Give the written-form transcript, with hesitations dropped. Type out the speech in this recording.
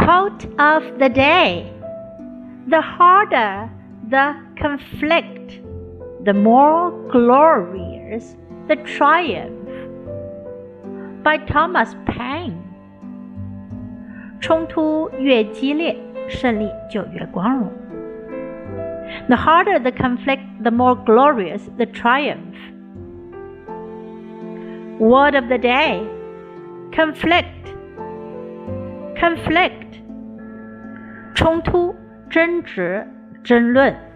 Quote of the day: The harder the conflict, the more glorious the triumph. By Thomas Paine. 冲突越激烈，胜利就越光荣。The harder the conflict, the more glorious the triumph. Word of the day: conflict. Conflict. 冲突、争执、争论。